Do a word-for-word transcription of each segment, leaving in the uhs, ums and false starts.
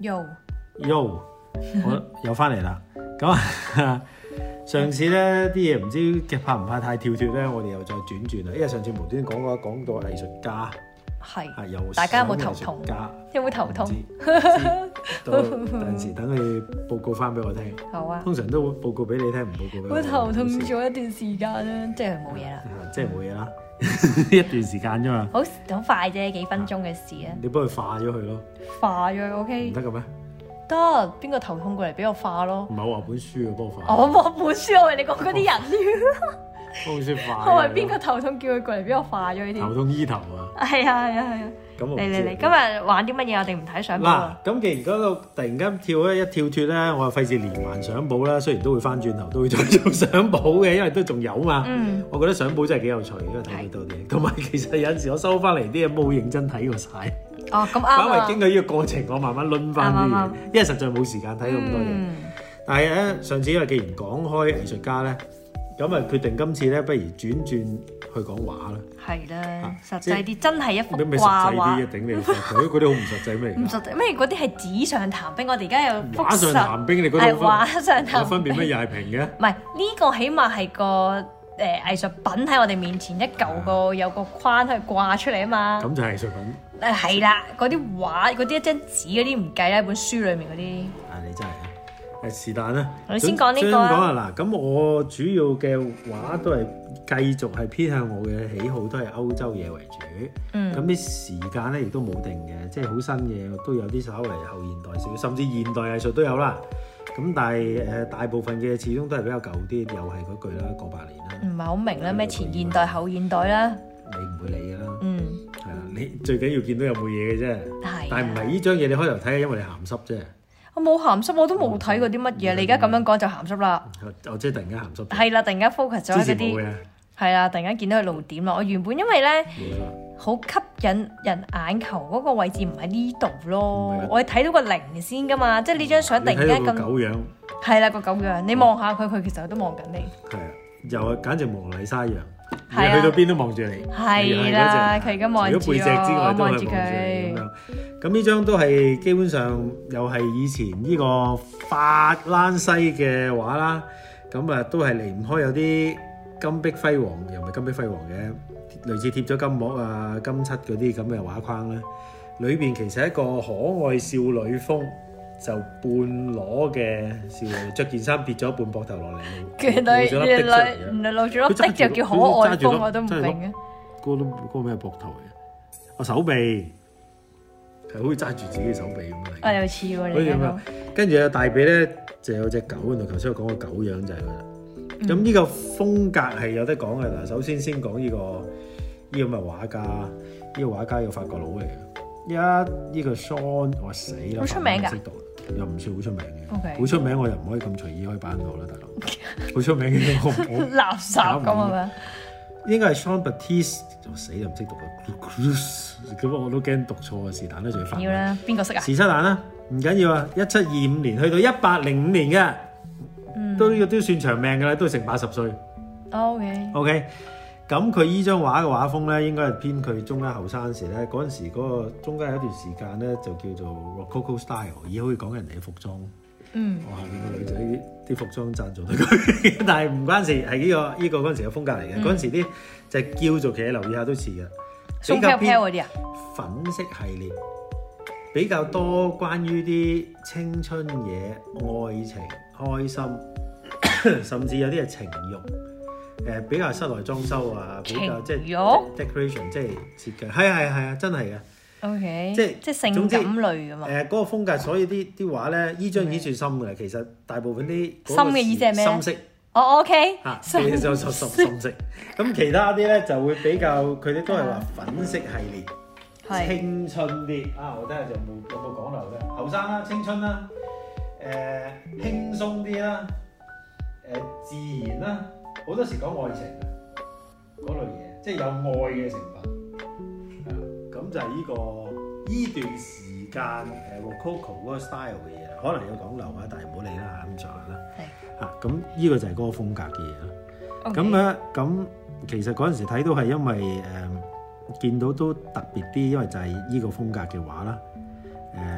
Yo Yo， 我又翻嚟啦。咁啊，上次咧啲嘢唔知嘅怕唔怕太跳脱咧，我哋又再轉轉啦。因為上次無端講過講到藝術家， 係啊有大家有冇頭痛？有冇頭痛？ 到陣時等佢報告翻俾我聽。好啊。通常都會報告俾你聽，唔報告俾我。 我頭痛咗一段時間啦，即係冇嘢啦。 即係冇嘢啦，一段時間啫嘛。好好快啫，幾分鐘嘅事啊。 你幫佢化咗佢咯。化咗佢 OK。 唔得嘅咩？ 得，邊個頭痛過嚟俾我化咯？ 唔係我話本書嘅幫我化。 我話本書，我為你講嗰啲人。 幫本書化。 我話邊個頭痛叫佢過嚟俾我化咗佢啲。頭痛醫頭啊！ 係啊係啊係啊！嚟嚟嚟，今日玩啲乜嘢？我哋唔睇相簿啊！ 嗱，咁既然嗰度突然間跳咧一跳脱咧，我就費事連環相簿啦。雖然都會翻轉頭，都會再做相簿嘅，因為都仲有嘛。嗯。我覺得相簿真係幾有趣，因為睇到多啲嘢。同埋其實有陣時我收翻嚟啲嘢冇認真睇過晒。 哦，咁啱啊！ 反為經過呢個過程，我慢慢攆翻啲嘢，因為實在冇時間睇咁多嘢。但係咧，上次因為既然講開藝術家咧，咁啊決定今次咧，不如轉轉。去講畫啦，係啦，實際啲真係一幅畫畫。啲嘅頂你個肺，嗰啲好唔實際咩？唔實際咩？嗰啲係紙上談兵，我哋而家有畫上談兵，你覺得係畫上談兵有分別咩？又係平嘅？唔係呢個起碼係個誒藝術品喺我哋面前一嚿個有個框去掛出嚟啊嘛。咁就係藝術品。誒係啦，嗰啲畫嗰啲一張紙嗰啲唔計啦，本書裡面嗰啲。啊，你真係〜誒是但啦，我先講呢個啊。先講啊嗱，咁我主要嘅畫都係繼續係偏向我嘅喜好，都係歐洲嘢為主。嗯。咁啲時間咧亦都冇定嘅，即係好新嘅都有啲稍微後現代少，甚至現代藝術都有啦。咁但係誒大部分嘅始終都係比較舊啲，又係嗰句啦，過百年啦。唔係好明啦，咩前現代後現代啦？你唔會理㗎啦。嗯。係啦，你最緊要見到有冇嘢嘅啫。係。但係唔係呢張嘢你開頭睇係因為你鹹濕啫。我冇鹹濕，我都冇睇過啲乜嘢。你而家咁樣講就鹹濕啦。我即係突然間鹹濕。係啦，突然間 focus 咗喺嗰啲。係啦，突然間見到佢露點啦。我原本因為咧好吸引人眼球嗰個位置唔喺呢度咯，我係睇到個零先噶嘛，即係呢張相突然間咁。狗樣。係啦，個狗樣，你望下佢，佢其實都望緊你。係啊，又係簡直蒙娜麗莎一樣。係啊。去到邊都望住你。係啦，佢而家望住我。除咗背脊之外，都係望住佢咁樣。咁呢張都係基本上又係以前呢個法蘭西嘅畫啦，咁啊都係離唔開有啲金碧輝煌，又唔係金碧輝煌嘅，類似貼咗金膜啊、金漆嗰啲咁嘅畫框咧。裏邊其實係一個可愛少女風，就半裸嘅少女，着件衫跌咗半膊頭落嚟，原來原來原來露住粒的就叫可愛風，我都唔明嘅。嗰個嗰個咩膊頭嚟嘅？我手臂。係好似揸住自己嘅手臂咁樣。啊，有似喎你咁樣。跟住有大髀咧，就有隻狗喺度。頭先我講個狗樣就係佢啦。咁呢、嗯、個風格係有得講嘅嗱。首先先講呢、這個呢、這個咁嘅畫家，呢、這個畫家係個法國佬嚟嘅。一呢、這個 Sean 我死啦，好出名㗎，又唔算好出名嘅。好 Okay. 出名我又唔可以咁隨意開版號啦，大佬。好出名嘅我我垃圾咁係咪？應該係 Jean Baptiste，我死又唔識讀啊！咁我都驚讀錯啊！是但啦，仲要翻。要啦，邊個識啊？是七蛋啦，唔緊要啊！一七二五年去到一八零五年嘅，嗯、都呢個都算長命㗎啦，都成八十歲。OK。OK。咁佢依張畫嘅畫風咧，應該係偏佢中間後生時咧，嗰陣時嗰個中間有一段時間咧，就叫做 Rococo style，而家好似講人哋嘅服裝。嗯，我下面個女仔啲服裝贊助到佢，但係唔關事，係呢、這個呢、這個嗰陣時嘅風格嚟嘅。嗰陣、嗯、時啲就叫做其實留意下都似嘅，比較偏嗰啲啊，粉色系列比較多關於啲青春嘢、愛情、開心，甚至有啲係情慾。誒、呃、比較室內裝修啊，比較即係 decoration， 即係設計，係係係啊，真係嘅。OK，即係即係性感類㗎嘛。誒嗰、呃那個風格，所以啲啲畫咧，依張已經算深㗎啦。其實大部分啲深嘅意思係咩？深色。哦、oh，OK。嚇，其實就深深深色。咁其他啲咧就會比較，佢哋都係話粉色系列，是青春啲。啊，我睇下有冇有冇講漏咧？後生啦，青春啦，誒、呃、輕鬆啲啦，誒、呃、自然啦。好多時講愛情嘅嗰類嘢，即係有愛嘅成分。咁就係呢、這個依段時間誒 Rococo 嗰個 style 嘅嘢，可能有講漏啊，但係唔好理啦，咁上下啦。係嚇，咁呢個就係嗰個風格嘅嘢咯。咁咧，咁其實嗰陣時睇到係因為誒、呃、見到都特別啲，因為就係呢個風格嘅畫啦。誒、呃，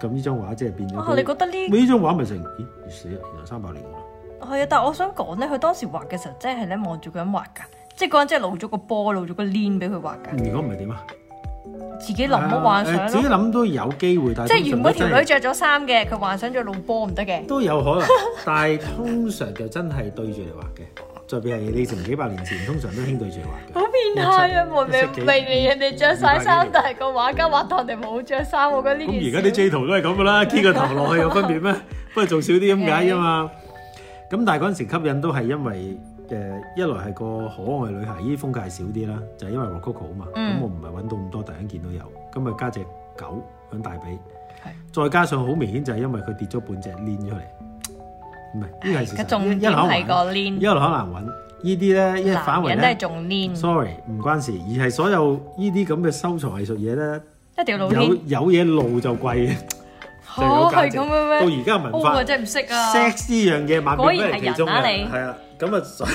咁呢張畫即係變咗。 啊，你覺得呢？ 呢張畫咪成咦死啦，原來三百年㗎啦。 係啊，但係我想講咧，佢當時畫嘅時候，真係咧望住個人畫㗎，即係嗰人真係露咗個波，露咗個鏈俾佢畫㗎。如果唔係點啊？ 自己諗冇幻想咯。 自己諗都有機會，但係即係原本條女着咗衫嘅，佢幻想咗露波唔得嘅。都有可能，但係通常就真係對住嚟畫嘅。特別係你成幾百年前，通常都興對住嚟畫嘅。 好變態啊！明明明明人哋着晒衫，但係個畫家畫到人哋冇着衫，我覺得呢件事。咁而家啲 J 圖都係咁噶啦，key 個頭落去有分別咩？不過做少啲咁解啫嘛。咁但係嗰陣時吸引都係因為誒一來係個可愛女孩，依啲風格係少啲啦，就係因為 Rococo 啊嘛。咁我唔係揾到咁多，突然間見到有，咁啊加隻狗響大髀，再加上好明顯就係因為佢跌咗半隻鏈出嚟。唔係，呢個係事實。重點係個鏈，一路好難揾。呢啲咧，一反為咧，都係重鏈。Sorry，唔關事，而係所有呢啲咁嘅收藏藝術嘢咧，一定要露鏈。有有嘢露就貴嘅。嚇係咁嘅咩？到而家文化，我真係唔識啊。sex 呢樣嘢萬變不離其宗嘅，係啊，咁啊，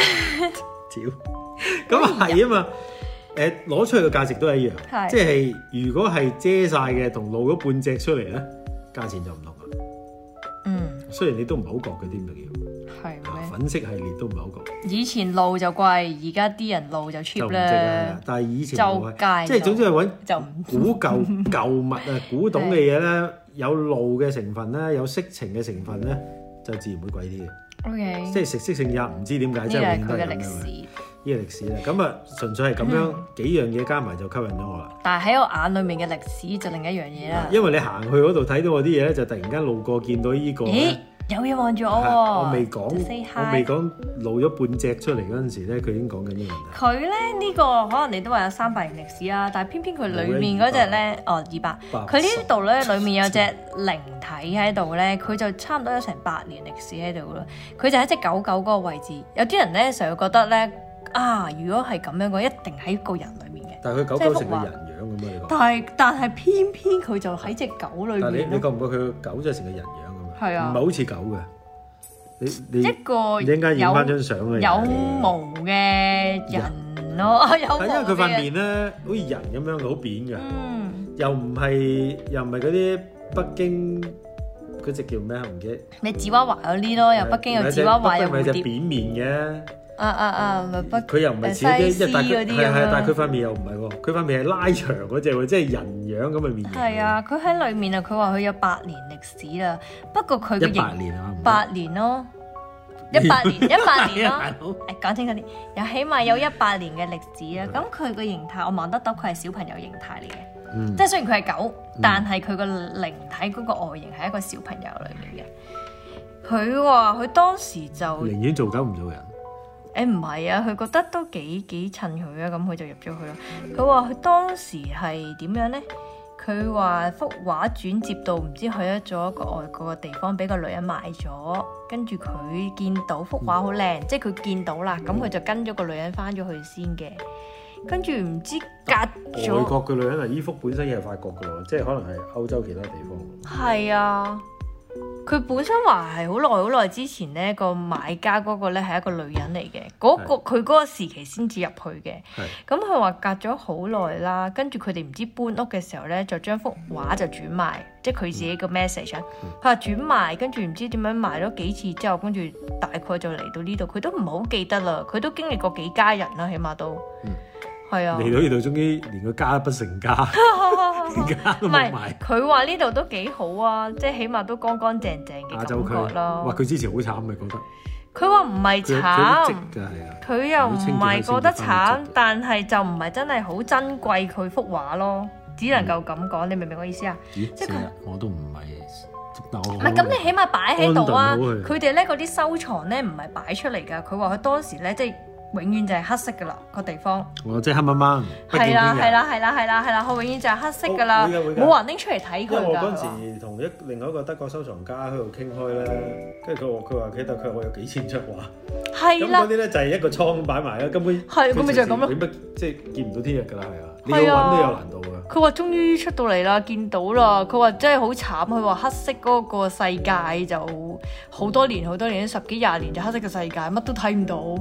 屌，咁啊係啊嘛。誒，攞出去嘅價值都係一樣，即係如果係遮晒嘅，同露咗半隻出嚟咧，價錢就唔同啦。嗯，雖然你都唔係好覺嘅啲咁嘅叫。係咩？粉色系列都唔係好講。以前露就貴，而家啲人露就 cheap 咧。但係以前就即係總之係揾古舊舊物啊，古董嘅嘢咧，有露嘅成分咧，有色情嘅成分咧，就自然會貴啲嘅。O K，即係食色性也唔知點解，即係永遠都係咁樣嘅。呢個係佢嘅歷史，呢個歷史咧，咁啊純粹係咁樣幾樣嘢加埋就吸引咗我啦。但係喺我眼裡面嘅歷史就另一樣嘢啦。因為你行去嗰度睇到我啲嘢咧，就突然間路過見到呢個。有嘢望住我喎！我未講，我未講露咗半隻出嚟嗰陣時咧，佢已經講緊呢樣嘢。佢咧呢個可能你都話有三百年歷史啦，但係偏偏佢裡面嗰隻咧，哦二百，佢呢度咧裡面有隻靈體喺度咧，佢就差唔多有成百年歷史喺度啦。佢就喺隻狗狗嗰個位置。有啲人咧成日覺得咧啊，如果係咁樣嘅，一定喺個人裡面嘅。但係佢狗狗成個人樣咁樣，但係但係偏偏佢就喺隻狗裡面。但係你你覺唔覺佢個狗就成個人樣？係啊，唔係好似狗嘅，你你一個你應該影翻張相嘅有毛嘅人咯，有毛嘅。因為佢塊面咧好似人咁樣，好扁嘅，又唔係又唔係嗰啲北京嗰隻叫咩啊？唔記得。你芝娃娃有呢咯，又北京有芝娃娃有蝴蝶。北京咪隻扁面嘅。啊啊啊！咪北佢又唔係似啲一大佢係係，但係佢塊面又唔係喎，佢塊面係拉長嗰隻喎，即係人樣咁嘅面型。係啊，佢喺裏面啊，佢話佢有百年歷史啦。不過佢嘅型年啊，百年咯，一百年一百年咯。誒，講清楚啲，有起碼有一百年嘅歷史啦。咁佢個形態我望得到，佢係小朋友形態嚟嘅。即係雖然佢係狗，但係佢個靈體嗰個外形係一個小朋友裏面嘅。佢話佢當時就寧願做狗唔做人。誒唔係啊，佢覺得都幾幾襯佢啊，咁佢就入咗去咯。佢話佢當時係點樣呢？佢話幅畫轉接到唔知去咗一個外國嘅地方，俾個女人買咗，跟住佢見到幅畫好靚，嗯、即係佢見到啦，咁佢就跟咗個女人翻咗去先嘅。跟住唔知隔咗外國嘅女人啊，依幅本身係法國嘅喎，即係可能係歐洲其他地方。係啊。佢本身話係好耐好耐之前咧，個買家嗰個咧係一個女人嚟嘅，嗰、嗰個佢嗰個時期先至入去嘅。咁佢話隔咗好耐啦，跟住佢哋唔知搬屋嘅時候咧，就將幅畫就轉賣，即係佢自己個 message 啊。佢話轉賣，跟住唔知點樣賣咗幾次之後，跟住大概就嚟到呢度，佢都唔係好記得啦。佢都經歷過幾家人啦，起碼都。嗯係啊，嚟到呢度，終於連個家不成家，家都冇埋。佢話呢度都幾好啊，即係起碼都乾乾淨淨嘅感覺咯。哇！佢之前好慘咪覺得？佢話唔係慘，佢又唔係覺得慘，但係就唔係真係好珍貴佢幅畫咯，只能夠咁講。你明唔明我意思啊？即係佢我都唔係，唔係咁，你起碼擺喺度啊！佢哋咧嗰啲收藏咧唔係擺出嚟㗎，佢話佢當時咧即係。永遠就係黑色噶啦個地方，哦，即係黑掹掹。係啦係啦係啦係啦係啦，佢永遠就係黑色噶啦，冇人拎出嚟睇佢噶。因為我嗰陣時同一另外一個德國收藏家喺度傾開咧，跟住佢話佢話佢佢話我有幾千張畫，係啦，咁嗰啲咧就係一個倉擺埋啦，根本係咁咪就係咁咯，點即係見唔到天日噶啦，係啊，你要揾都有難度噶。佢話終於出到嚟啦，見到啦，佢話真係好慘，佢話黑色嗰個世界就好多年好多年，十幾廿年就黑色嘅世界，乜都睇唔到。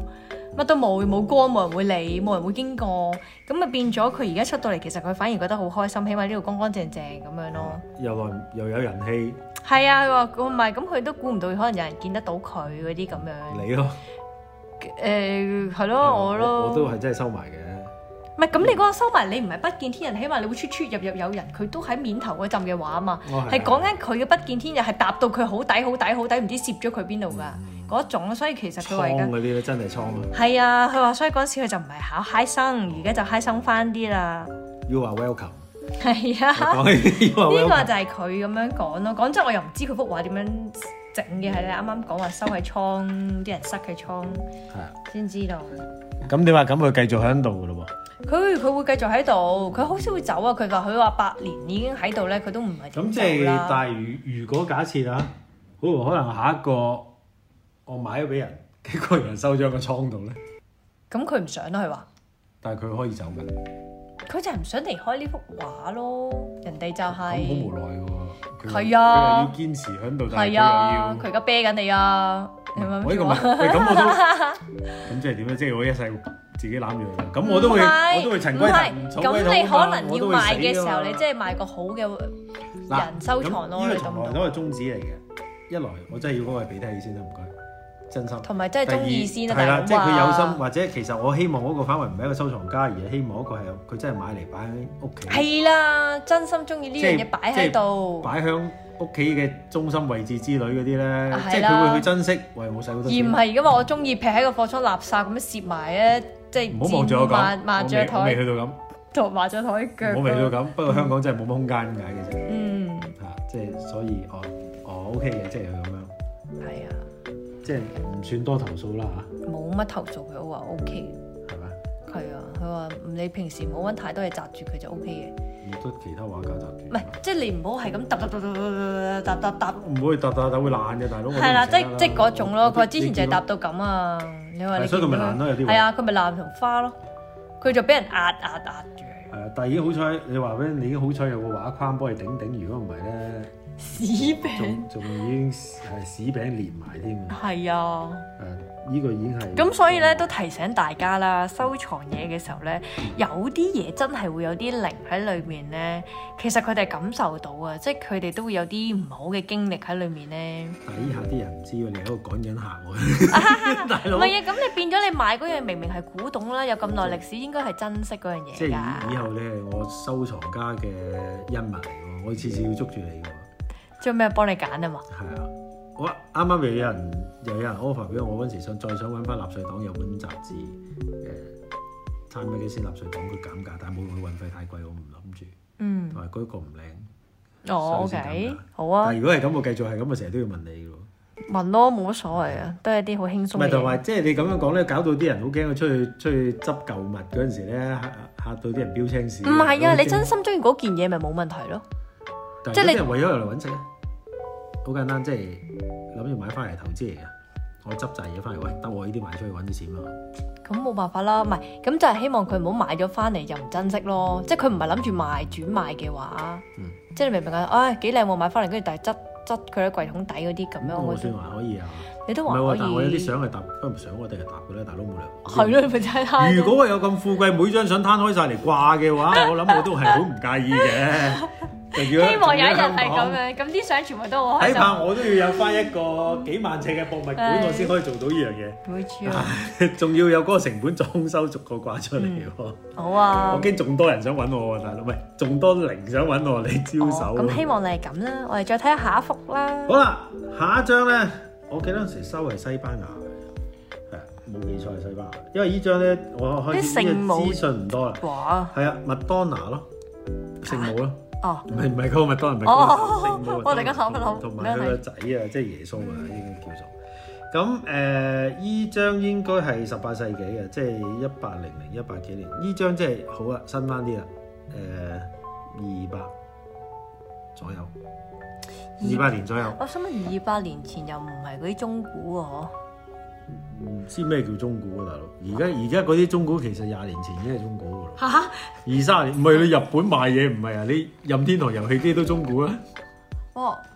乜都冇，冇光，冇人會理，冇人會經過，咁咪變咗佢而家出到嚟，其實佢反而覺得好開心，起碼呢度乾乾淨淨咁樣咯。 又來又有人氣。 係啊，佢話唔係，咁佢都估唔到，可能有人見得到佢嗰啲咁樣。 你咯。 誒係咯，我咯。 我都係真係收埋嘅。 唔係咁，你嗰個收埋，你唔係不見天日，起碼你會出出入入有人，佢都喺面頭嗰陣嘅話啊嘛，係講緊佢嘅不見天日係搭到佢好底好底好底，唔知攝咗佢邊度㗎嗰種，所以其實佢話而家倉嗰啲咧真係倉啊。 係啊，佢話所以嗰陣時佢就唔係考嗨生，而家就嗨生翻啲啦。 You are welcome。 係啊，呢個就係佢咁樣講咯。講真，我又唔知佢幅畫點樣整嘅，係你啱啱講話收喺倉，啲人塞喺倉，係啊，先知道。 咁點啊？咁佢繼續喺度㗎咯喎。 佢佢會繼續喺度，佢好少會走啊！佢話佢話八年已經喺度咧，佢都唔係點走啦。咁即係， 但係如如果假設啊，好可能下一個我買咗俾人，幾個人收咗個倉度咧。 咁佢唔想啦，佢話。 但係佢可以走㗎。 佢就係唔想離開呢幅畫咯，人哋就係。好無奈喎。 係啊。 佢又要堅持喺度，但係佢又要。 佢而家啤緊你啊！係咪？ 我呢個問，喂咁我都，咁即係點咧？即係我一世。自己攬住佢，咁我都會，我都會塵歸塵，草歸草。 咁你可能要賣嘅時候，你即係賣個好嘅人收藏咯。 呢個從來都係宗旨嚟嘅。一來我真係要嗰個俾得起先啦，唔該，真心。 同埋真係中意先啦， 係啦，即係佢有心，或者其實我希望嗰個範圍唔係一個收藏家，而係希望嗰個係佢真係買嚟擺喺屋企。係啦，真心中意呢樣嘢擺喺度， 擺響屋企嘅中心位置之類嗰啲咧，即係佢會去珍惜。喂，我使好多錢。而唔係而家話我中意劈喺個貨倉垃圾咁樣攝埋咧。即係唔好望住我講， 麻雀台， 我未去到咁， 同麻雀台腳。 我未去到咁，不過香港真係冇乜空間咁解嘅啫。 嗯， 嚇，即係所以我我 OK 嘅，即係佢咁樣。 係啊， 即係唔算多投訴啦嚇。 冇乜投訴，佢都話 OK。 係咪？ 係啊，佢話你平時唔好揾太多嘢擲住佢就 OK 嘅。 冇得其他畫家擲住。 唔係，即係你唔好係咁揼揼揼揼揼揼揼。 唔會揼揼揼會爛嘅，大佬。 係啦，即即嗰種咯。佢話之前就係揼到咁啊。你話你所以佢咪爛咯，有啲係啊，佢咪爛同花咯，佢就俾人壓壓壓住。 係啊，但係已經好彩，你話俾你已經好彩有個畫框幫你頂頂，如果唔係咧， 屎餅仲仲已經係屎餅連埋添。 係啊。 誒，依個已經係。 咁所以咧都提醒大家啦，收藏嘢嘅時候咧，有啲嘢真係會有啲靈喺裏面咧，其實佢哋感受到啊，即係佢哋都會有啲唔好嘅經歷喺裏面咧。 但係依下啲人唔知喎，你喺度趕緊客喎，大佬。 唔係啊，咁你變咗你買嗰樣明明係古董啦，有咁耐歷史，應該係珍惜嗰樣嘢㗎。 即係以後你係我收藏家嘅恩物嚟喎，我次次要捉住你㗎。 做咩幫你揀啊嘛？ 係啊。我啱啱又有人又有人 offer 俾我，我嗰陣時想再想揾翻納粹黨有本雜誌，誒參咩嘅先納粹黨佢減價，但係冇佢運費太貴，我唔諗住。嗯。同埋嗰個唔靚。 哦 ，OK，好啊。 但係如果係咁，我繼續係咁，我成日都要問你㗎喎。 問咯，冇乜所謂啊，都係啲好輕鬆嘅嘢。唔係同埋即係你咁樣講咧，搞到啲人好驚，我出去出去執舊物嗰陣時咧，嚇嚇到啲人標青史。 唔係啊，你真心中意嗰件嘢咪冇問題咯。 即係你啲人為咗嚟揾食咧。好簡單，即係諗住買翻嚟投資嚟嘅。我執紮嘢翻嚟，喂，得我呢啲賣出去揾啲錢嘛。 咁冇辦法啦，唔係咁就係希望佢唔好買咗翻嚟又唔珍惜咯。即係佢唔係諗住賣轉賣嘅話，嗯、即係你明唔明啊？唉，幾靚喎，買翻嚟跟住但係執執佢喺櫃桶底嗰啲咁樣。我算還可以啊。 你都還可以。 但係我有啲相係搭，不過唔想我哋係搭嘅咧，大佬冇理由。 係咯，咪就係攤。 如果我有咁富貴，每張相攤開晒嚟掛嘅話，我諗我都係好唔介意嘅。 希望有一日係咁樣，咁啲相全部都好開心。 睇怕我都要有翻一個幾萬尺嘅博物館，唉我先可以做到呢樣嘢。 冇錯。 仲要有嗰個成本裝修逐個掛出嚟喎、嗯。好啊。我驚仲多人想揾我喎，大佬，喂，仲多零想揾我，你招手。咁、 哦、希望你係咁啦，我哋再睇下下一幅啦。 好啦，下一張咧，我記得嗰陣時收係西班牙嘅，係冇記錯係西班牙，因為呢張咧我開始呢個資訊唔多啦。哇！係啊，麥當娜咯，聖母咯。哦，唔係唔係嗰個麥當勞，唔係嗰個聖母。我哋而家諗一諗，同埋佢個仔啊，即係耶穌啊，應該叫做。咁誒，依張應該係十八世紀嘅，即係一八零零一八幾年。依張即係好啦，新翻啲啦，誒二百左右，二百年左右。 我想問二百年前又唔係嗰啲中古喎，嗬？ 唔知咩叫中古啊，大佬！而家而家嗰啲中古其實廿年前已經係中古噶啦。嚇哈！二三十年唔係你日本賣嘢唔係啊？你任天堂遊戲機都中古啊？ 哦，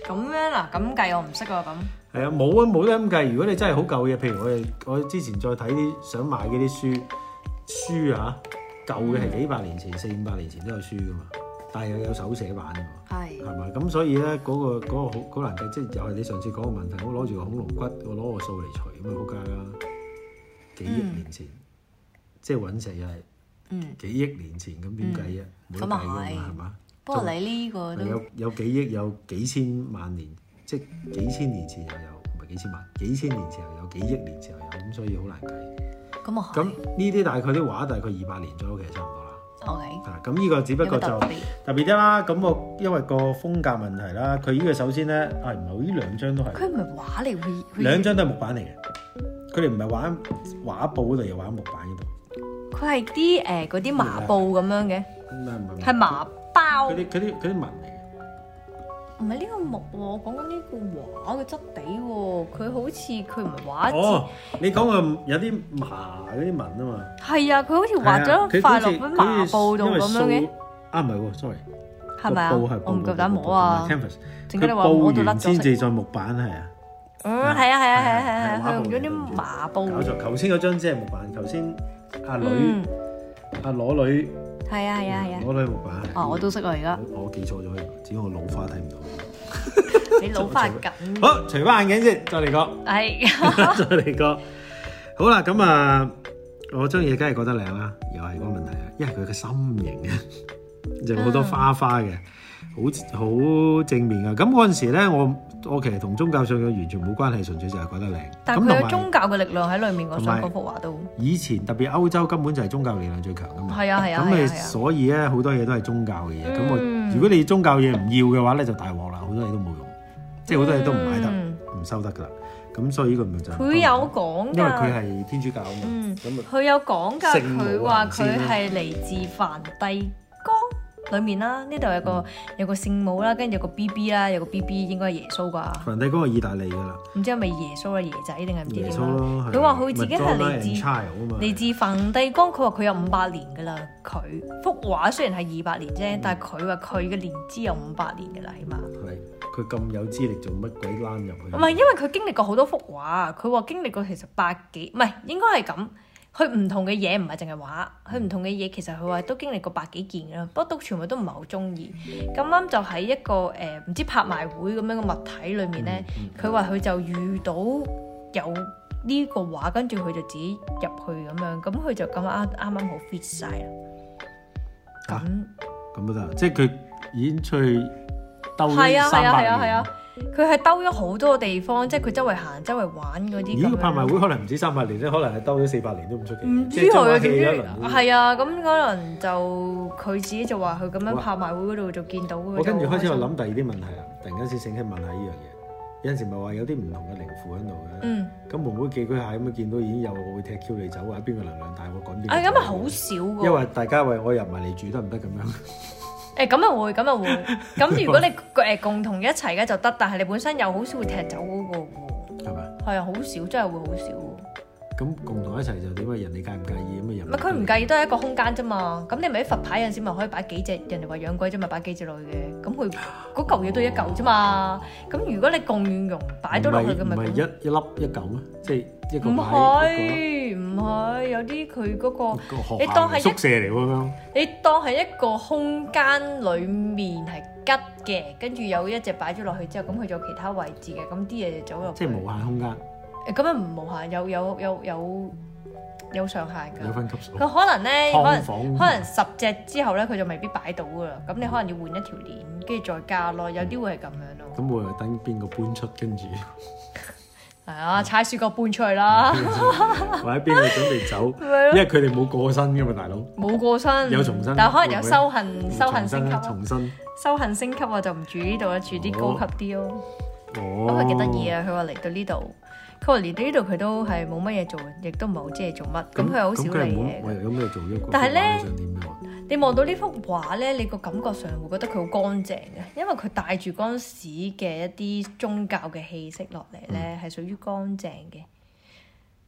咁樣嗱，咁計我唔識喎咁。 係啊，冇啊，冇得咁計。如果你真係好舊嘅，譬如我哋我之前再睇啲想買嗰啲書書啊，舊嘅係幾百年前、四五百年前都有書噶嘛，但係又有手寫版㗎嘛，係係咪？咁所以咧嗰、嗰個嗰、嗰個好好難計，即係又係你上次講個問題，我攞住個恐龍骨，我攞個數嚟除咁啊，好計啦！幾億年前，嗯、即係隕石又係幾億年前，咁點計啊？冇得計㗎嘛，係嘛？ 不過你呢個都有有幾億，有幾千萬年，即係幾千年前又有，唔係幾千萬，幾千年前又有，幾億年前又有，咁所以好難計。咁啊咁呢啲大概啲畫大概二百年左右，其實差唔多啦。O K。啊，咁呢個只不過就特別啲啦。咁我因為個風格問題啦，佢呢個首先咧，啊唔係，呢兩張都係。佢唔係畫嚟，會兩張都係木板嚟嘅。佢哋唔係畫畫布嗰度，又畫木板嗰度。佢係啲誒嗰啲麻布咁樣嘅。唔係唔係。係麻。佢啲佢啲佢啲紋嚟嘅，唔係呢個木喎，我講緊呢個畫嘅質地喎，佢好似佢唔係畫。哦，你講嘅有啲麻嗰啲紋啊嘛。係啊，佢好似畫咗塊落喺麻布度咁樣嘅。啊唔係喎 ，sorry。係咪啊？我唔夠膽摸啊。canvas，佢布完先至再木板係啊。嗯，係啊係啊係啊係啊，佢用咗啲麻布。搞錯，頭先嗰張只係木板，頭先阿女阿裸女。係啊係啊係啊！我女木板哦，我都識啊而家。我記錯咗，只係我老花睇唔到。你老花緊。好，除翻眼鏡先，再嚟個。係。再嚟個。好啦，咁啊，我張嘢梗係覺得靚啦，又係嗰個問題啊，因為佢嘅心形啊，就好多花花嘅，好好正面啊。咁嗰陣時咧，我我其實同宗教信仰完全冇關係，純粹就係覺得靚。但係佢有宗教嘅力量喺裏面，我想嗰幅畫都。以前特別歐洲根本就係宗教力量最強噶嘛。係啊係啊。咁你所以咧好多嘢都係宗教嘅嘢。咁我如果你宗教嘢唔要嘅話咧，就大鑊啦，好多嘢都冇用，即係好多嘢都唔買得，唔收得噶啦。咁所以呢個咪就佢有講㗎，因為佢係天主教啊嘛。咁佢有講㗎，佢話佢係嚟自梵蒂岡裏面啦，呢度有個、嗯、有個聖母啦，跟住有個 B B 啦，有個 B B 應該係耶穌啩。梵蒂岡係意大利㗎啦。唔知係咪耶穌啊，爺仔定係唔知點啦。佢話佢自己係嚟自嚟自梵蒂岡，佢話佢有五百年㗎啦。佢幅畫雖然係二百年啫，嗯、但係佢話佢嘅年資有五百年㗎啦，起碼。係。佢咁有資歷做乜鬼攬入去？唔係，因為佢經歷過好多幅畫，佢話經歷過其實百幾，唔係應該係咁。佢唔同嘅嘢唔係淨係畫，佢唔同嘅嘢其實佢話都經歷過百幾件㗎啦，不過都全部都唔係好中意。咁啱就喺一個誒唔、呃、知拍賣會咁樣嘅物體裏面咧，佢話佢就遇到有呢個畫，跟住佢就自己入去咁樣，咁佢就咁啱啱啱好 fit 晒啦。咁咁都得，即係佢已經出去。係啊係啊係啊係啊！佢係兜咗好多個地方，即係佢周圍行、周圍玩嗰啲。咦？個拍賣會可能唔止三百年咧，可能係兜咗四百年都唔出奇。唔知佢啊點知？係啊，咁可能就佢自己就話佢咁樣拍賣會嗰度就見到。我跟住開始我諗第二啲問題啦，突然間先醒起問下呢樣嘢。有陣時咪話有啲唔同嘅靈符喺度嘅。嗯。咁會唔會寄居蟹咁樣見到已經有會踢 Q 你走或者邊個能量大我趕邊個？啊，咁咪好少㗎。因為大家為我入埋嚟住得唔得咁樣？誒咁又會，咁又會。咁如果你誒共同一齊嘅就得，但係你本身又好少會踢走嗰個喎。係咪？係啊，好少，真係會好少。咁共同一齊就點啊？人哋介唔介意咁嘅人？唔係佢唔介意，都係一個空間啫嘛。咁你咪喺佛牌有陣時咪可以擺幾隻，人哋話養鬼啫嘛，擺幾隻落去嘅。咁佢嗰嚿嘢都一嚿啫嘛。咁如果你共用擺到落去嘅咪唔係一一粒一嚿咩？即係一個擺一個。唔係唔係，有啲佢嗰個你當係宿舍嚟喎。你當係一個空間裡面係吉嘅，跟住有一隻擺咗落去之後，咁佢仲有其他位置嘅，咁啲嘢就走入。即係無限空間。咁樣唔無限，有有有有有上限㗎。有分級數。佢可能咧，可能可能十隻之後咧，佢就未必擺到㗎啦。咁你可能要換一條鏈，跟住再加咯。有啲會係咁樣咯。咁會等邊個搬出，跟住係啊，踩雪角搬出去啦。或者邊個準備走？因為佢哋冇過身㗎嘛，大佬。冇過身。有重新。但係可能有修行，修行升級。重新。修行升級我就唔住呢度啦，住啲高級啲咯。哦。咁佢幾得意啊！佢話嚟到呢度。佢話嚟到呢度佢都係冇乜嘢做，亦都唔係好知係做乜。咁佢又好少理嘢。有咩做一個？但係咧，你望到呢幅畫咧，你個感覺上會覺得佢好乾淨嘅，因為佢帶住嗰陣時嘅一啲宗教嘅氣息落嚟咧，係屬於乾淨嘅。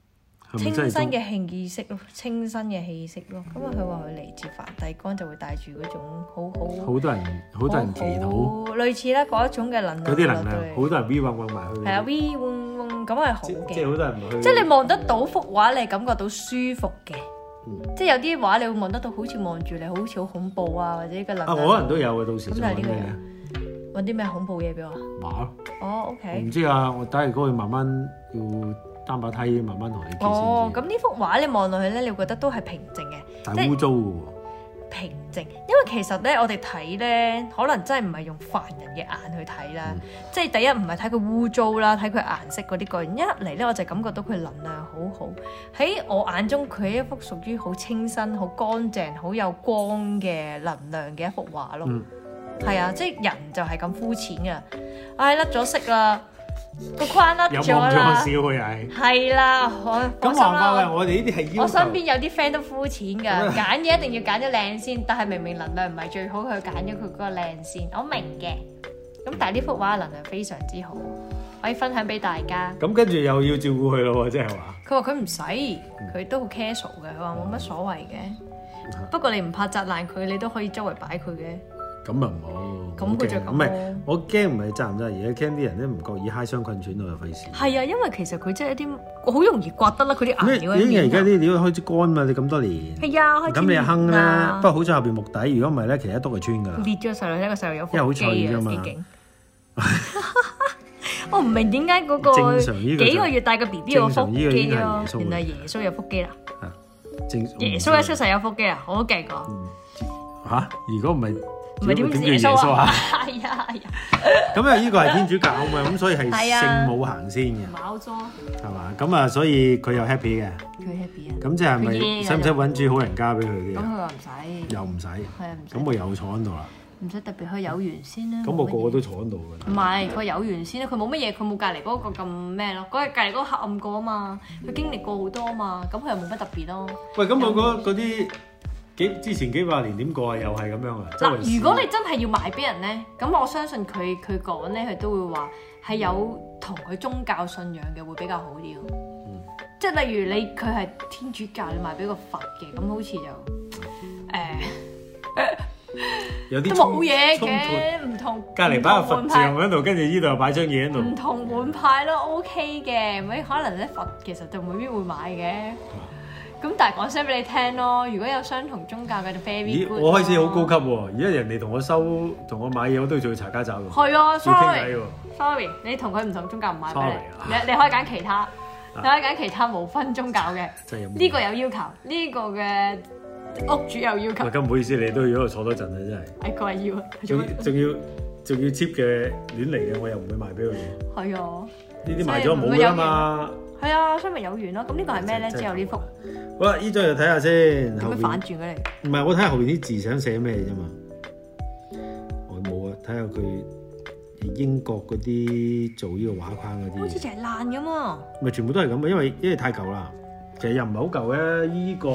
清新嘅氣息咯，清新嘅氣息咯。咁啊，佢話佢嚟自梵蒂岡就會帶住嗰種好好好多人好多人祈禱， 類似咧嗰一種嘅能量。 嗰啲能量，好多人 V 嗡嗡埋去。 係啊 V 嗡嗡咁係好嘅。 即係好多人去。 即係你望得到幅畫，你感覺到舒服嘅。即係有啲畫你會望得到，好似望住你，好似好恐怖啊，或者個能量。啊， 我可能都有嘅，到時就揾咩？ 揾啲咩恐怖嘢俾我？ 畫咯。 哦 OK。 唔知啊，我等下嗰去慢慢要。擔把梯慢慢同你傾先。 哦，咁呢幅畫你望落去咧，你會覺得都係平靜嘅， 但係污糟嘅喎。 平靜，因為其實咧，我哋睇咧，可能真係唔係用凡人嘅眼去睇啦。嗯、即係第一唔係睇佢污糟啦，睇佢顏色嗰啲個人。一嚟咧，我就感覺到佢能量好好。喺我眼中，佢係一幅屬於好清新、好乾淨、好有光嘅能量嘅一幅畫咯。係、嗯、啊，即係人就係咁膚淺嘅。唉、哎，甩咗色啦。個框甩咗啦，有望咗少佢係。係啦，我咁話法嘅，我哋呢啲係要求。我身邊有啲 friend 都膚淺㗎，揀嘢一定要揀咗靚先，但係明明能量唔係最好，佢揀咗佢嗰個靚先，我明嘅。咁但係呢幅畫能量非常之好，可以分享俾大家。咁跟住又要照顧佢咯，即係話。佢話佢唔使，佢都好 casual 嘅，佢話冇乜所謂嘅。不過你唔怕砸爛佢，你都可以周圍擺佢嘅。咁啊唔好，咁佢就咁。唔係，我驚唔係賺唔賺，而係驚啲人咧唔覺意嗨傷困損到就費事。係啊，因為其實佢真係一啲好容易刮得啦，佢啲顏料。已經而家啲料開始乾嘛，你咁多年。係啊，開始。咁你又坑啦，不過好在後邊木底，如果唔係咧，其實一篤就穿㗎啦。裂咗細路，一個細路有腹肌啊，因為好脆㗎嘛。我唔明點解嗰個幾個月大嘅 B B 有腹肌咯，原來耶穌有腹肌啦。耶穌一出世有腹肌啊，我都勁過。嚇！如果唔係。唔係點叫耶穌啊？係啊係啊！咁啊，呢個係天主教啊嘛，咁所以係聖母行先嘅。冇錯。係嘛？咁啊，所以佢又 happy 嘅。佢 happy 啊！咁即係咪使唔使揾住好人家俾佢啲？咁佢話唔使。又唔使。係啊，唔使。咁我又坐喺度啦。唔使特別去有緣先啦。咁我個個都坐喺度㗎。唔係，佢有緣先啦。佢冇乜嘢，佢冇隔離嗰個咁咩咯。嗰日隔離嗰個黑暗過啊嘛，佢經歷過好多啊嘛，咁佢又冇乜特別咯。喂，咁我覺得嗰啲。幾之前幾百年點過啊？又係咁樣啊！嗱，如果你真係要賣俾人咧，咁我相信佢佢講咧，佢都會話係有同佢宗教信仰嘅會比較好啲咯。嗯，即係例如你佢係天主教，你賣俾個佛嘅，咁好似就誒、呃、有啲都冇嘢嘅，唔同隔離擺個佛像喺度，跟住呢度又擺張嘢喺度，唔同門派咯 OK 嘅，咪可能咧佛其實就未必會買嘅。咁但係講聲俾你聽咯，如果有相同宗教嘅就 very good。咦，我開始好高級喎！而家人哋同我收同我買嘢，我都要做查家找喎。係啊，sorry，sorry， sorry，你同佢唔同宗教唔買俾你，你你可以揀其他，你可以揀其他無分宗教嘅。呢個有要求，呢個嘅屋主有要求。咁唔好意思，你都要喺度坐多陣啊！真係。哎，佢話要啊。仲仲要仲要 cheap 嘅亂嚟嘅，我又唔會賣俾佢。係啊。呢啲賣咗冇㗎嘛。係啊，所以咪有緣咯。咁呢個係咩咧？之後呢幅。好啦，呢張就睇下先。點解反轉嘅你？唔係，我睇下後邊啲字想寫咩啫嘛。我冇啊，睇下佢英國嗰啲做呢個畫框嗰啲。好似就係爛咁啊！咪全部都係咁啊，因為因為太舊啦。其實又唔係好舊嘅呢個。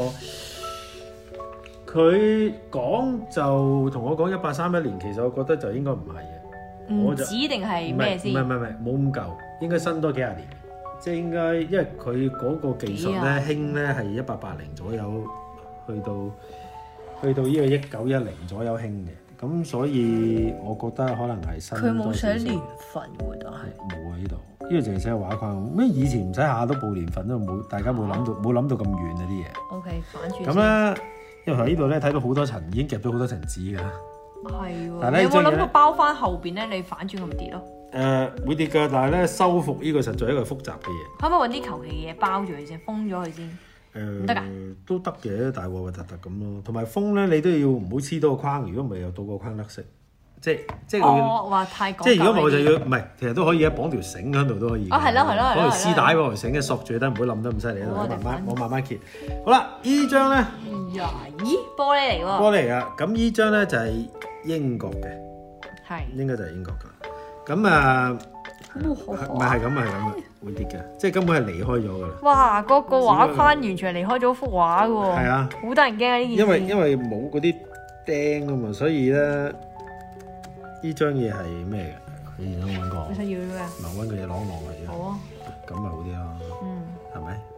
佢講就同我講一八三一年，其實我覺得就應該唔係嘅。唔止定係咩先？唔係唔係唔係，冇咁舊，應該新多幾廿年。即係應該，因為佢嗰個技術咧興咧係一八八零左右，去到去到呢個一九一零左右興嘅，咁所以我覺得可能係新。佢冇寫年份喎，但係冇啊呢度，呢個淨係寫畫框。咩以前唔使下都報年份都冇，大家冇諗到冇諗、啊、到咁遠啊啲嘢。O K，反轉。咁咧，因為喺呢度咧睇到好多層，已經夾到好多層紙㗎。係喎。但係咧，你有冇諗到包翻後邊咧？你反轉佢咪跌咯？誒、呃、會跌㗎，但係咧修復呢個實在係一個複雜嘅嘢。可唔可以揾啲求其嘢包住佢先，封咗佢先？誒得㗎，都得嘅，大鑊核突突咁咯。同埋封咧，你都要唔好黐多個框，如果唔係又到個框甩色。即係即係我話太講究。即係如果唔係我就要唔係，其實都可以啊，綁條繩喺度都可以。哦，係咯係咯係咯。綁條絲帶綁條繩嘅索住得，唔好冧得咁犀利啊！我慢慢我慢慢揭。好啦，依張咧，呀咦玻璃嚟喎。玻璃啊，咁依張咧就係英國嘅，係應該就係英國㗎。咁啊，唔係係咁係咁啊，會跌嘅，即係根本係離開咗㗎啦。哇！嗰個畫框完全係離開咗幅畫㗎喎。係啊，好得人驚啊！呢件事。因為因為冇嗰啲釘啊嘛，所以咧呢張嘢係咩嘅？你想揾個？你想要咩？咪揾個嘢攞攞佢啫。好啊。咁咪好啲咯。嗯。係咪？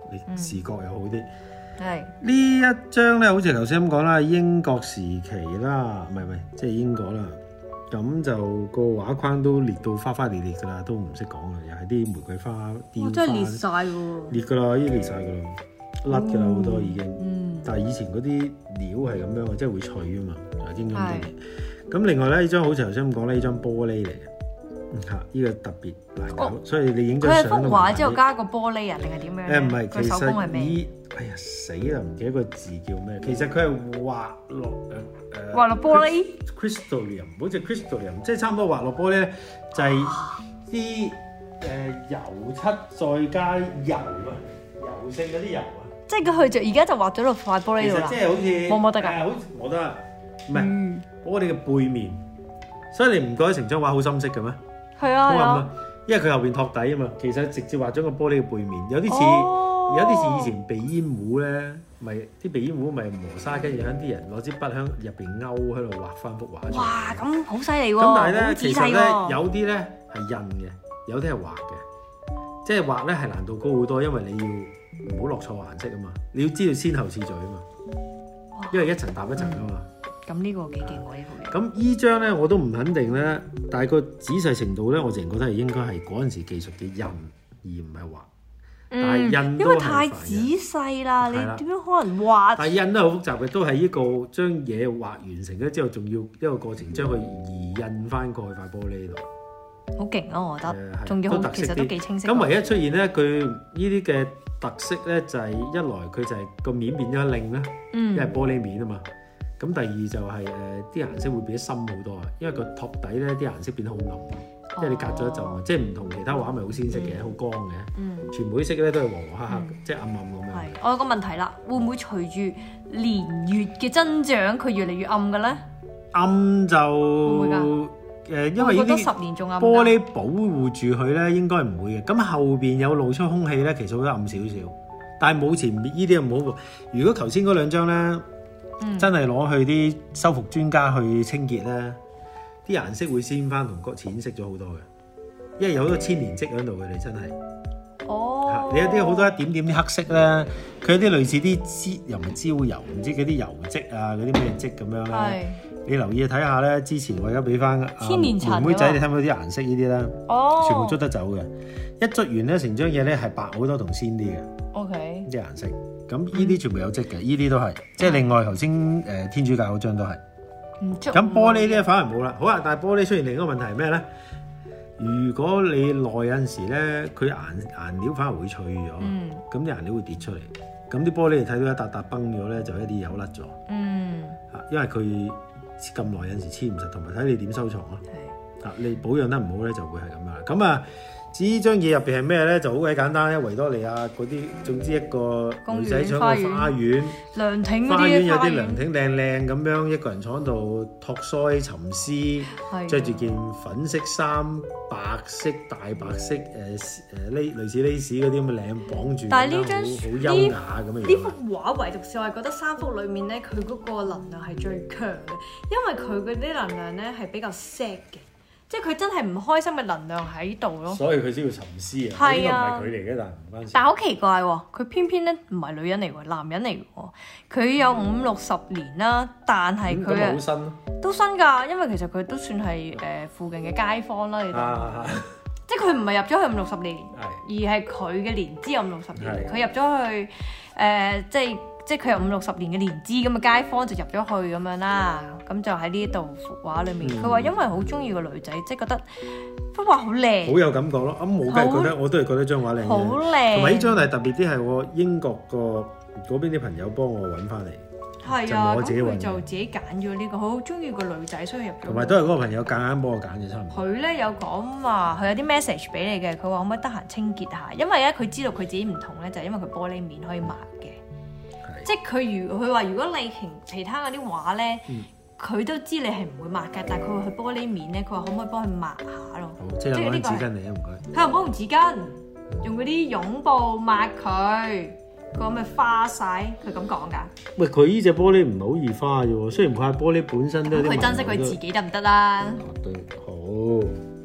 你視覺又好啲。 係呢、 嗯、一張咧，好似頭先咁講啦，英國時期啦，唔係唔係，即係英國啦。咁就個畫框都裂到花花裂裂㗎啦，都唔識講啦，又係啲玫瑰花雕花。 真係裂晒喎！ 裂㗎啦，已經裂晒㗎啦，甩㗎啦好多已經。 嗯。但係以前嗰啲料係咁樣嘅，即係會脆啊嘛，就經咁多年。咁另外咧，呢張好似頭先咁講咧，呢張玻璃嚟嘅，嚇，呢個特別難搞，所以你影張相都。佢係幅畫之後加個玻璃啊，定係點樣？誒唔係，其實依哎呀死啦，唔記得個字叫咩？其實佢係畫落誒誒。畫落玻璃。crystalline，好似 crystalline，即係差唔多畫落玻璃咧，就係啲誒油漆再加油啊，油性嗰啲油啊。即係佢就而家就畫咗落塊玻璃度啦。其實即係好似摸摸得㗎。係好似摸得，唔係玻璃嘅背面，所以你唔覺得成張畫好深色嘅咩？係啊係啊，因為佢後邊托底啊嘛。其實直接畫咗個玻璃嘅背面，有啲似、哦、有啲似以前鼻煙壺咧，咪啲鼻煙壺咪磨砂，跟住響啲人攞支筆響入邊勾喺度畫翻幅畫出嚟。哇，咁好犀利喎！咁但係咧，其實咧有啲咧係印嘅，有啲係畫嘅，即係畫咧係難度高好多，因為你要唔好落錯顏色啊嘛，你要知道先後次序啊嘛，因為一層搭一層啊嘛。咁呢、嗯、個幾勁喎呢個。咁依張咧我都唔肯定咧，但係個仔細程度咧，我淨係覺得係應該係嗰陣時技術嘅印，而唔係畫。嗯、但係印都因為太仔細啦，你點樣可能畫？但係印都好複雜嘅，都係呢個將嘢畫完成咗之後，仲要一個過程將佢移印翻過去塊玻璃度。好勁啊！我覺得，仲要好其實都幾清晰。咁唯一出現咧，佢呢啲嘅特色咧，就係、是、一來佢就係個面變咗靚啦，嗯、因為玻璃面啊嘛。咁第二就係誒啲顏色會變得深好多啊，因為個托底咧啲顏色變得好暗，即係、哦、你隔咗一陣，即係唔同其他畫咪好鮮色嘅，好、嗯、光嘅，嗯、全部啲色咧都係黃黃黑黑，嗯、即係暗暗咁樣。係，我有個問題啦，會唔會隨住年月嘅增長，佢越嚟越暗嘅咧？暗就會唔會㗎？誒，因為呢啲玻璃保護住佢咧，應該唔會嘅。咁後邊有露出空氣咧，其實會暗少少，但係冇前面呢啲咁好。如果頭先嗰兩張咧，嗯、真係攞去啲修復專家去清潔咧，啲顏色會鮮翻同個淺色咗好多嘅，因為有好多千年積喺度嘅，你真係。哦。你有啲好多一點點啲黑色咧，佢有啲類似啲焦又唔係焦油，唔知嗰啲油漬啊，嗰啲咩漬咁樣咧。你留意睇下咧，之前我而家俾翻千年塵妹仔，你睇唔睇啲顏色呢啲咧？哦，全部捽得走嘅，一捽完咧，成張嘢咧係白好多同鮮啲嘅。O K，啲顏色，咁呢啲全部有漬嘅，呢啲都係，即係另外頭先誒天主教嗰張都係。唔捽。咁玻璃咧反而冇啦。好啊，但係玻璃出現另一個問題係咩咧？如果你耐有陣時咧，佢顏顏料反而會脆咗，咁啲顏料會跌出嚟，咁啲玻璃你睇到一笪笪崩咗咧，就一啲油甩咗。嗯。嚇，因為佢。咁耐有陣時黐唔實，同埋睇你點收藏咯。係啊，你保養得唔好咧，就會係咁樣。咁啊，至於張嘢入邊係咩咧，就好鬼簡單咧。維多利亞嗰啲，總之一個女仔坐個花園，涼亭嗰啲花園有啲涼亭靚靚咁樣，一個人坐喺度托腮沉思，着住件粉色衫、白色大白色誒誒呢類似 lace 嗰啲咁嘅領綁住，但係呢張好優雅咁嘅樣。呢幅畫唯獨是我係覺得三幅裡面咧，佢嗰個能量係最強嘅，因為佢嗰啲能量咧係比較 sad 嘅。即係佢真係唔開心嘅能量喺度咯，所以佢先要沉思啊。係啊，呢個唔係佢嚟嘅，但係唔關事。但係好奇怪喎，佢偏偏咧唔係女人嚟喎，男人嚟喎。佢有五六十年啦，但係佢啊，好新咯，都新㗎。因為其實佢都算係誒附近嘅街坊啦，你睇。即係佢唔係入咗去五六十年，而係佢嘅年資有五六十年。佢入咗去誒，即係。即係佢有五六十年嘅年資咁嘅街坊就入咗去咁樣啦，咁就喺呢度幅畫裏面。佢話、嗯、因為好中意個女仔，即係覺得幅畫好靚，好有感覺咯。咁我梗係覺得，我都係覺得張畫靚嘅，好靚。同埋呢張係特別啲，係我英國個嗰邊啲朋友幫我揾翻嚟。係啊，咁佢就自己揀咗呢個，好中意個女仔，所以入咗。同埋都係嗰個朋友夾硬幫我揀嘅，差唔多。佢咧有講話，佢有啲 message 俾你嘅，佢話可唔可以得閒清潔下？因為咧佢知道佢自己唔同咧，就係、是、因為佢玻璃面可以抹嘅。即係佢如佢話，如果你其其他嗰啲畫咧，佢、嗯、都知你係唔會抹嘅，但係佢會去玻璃面咧，佢話可唔可以幫佢抹下咯？好，即係攞紙巾嚟啊，唔該。佢又冇用紙巾，用嗰啲絨布抹佢，佢話咪花晒，佢咁講㗎。喂，佢呢隻玻璃唔係好易花啫喎，雖然佢係玻璃本身都有啲。佢珍惜佢自己得唔得啦？對，好。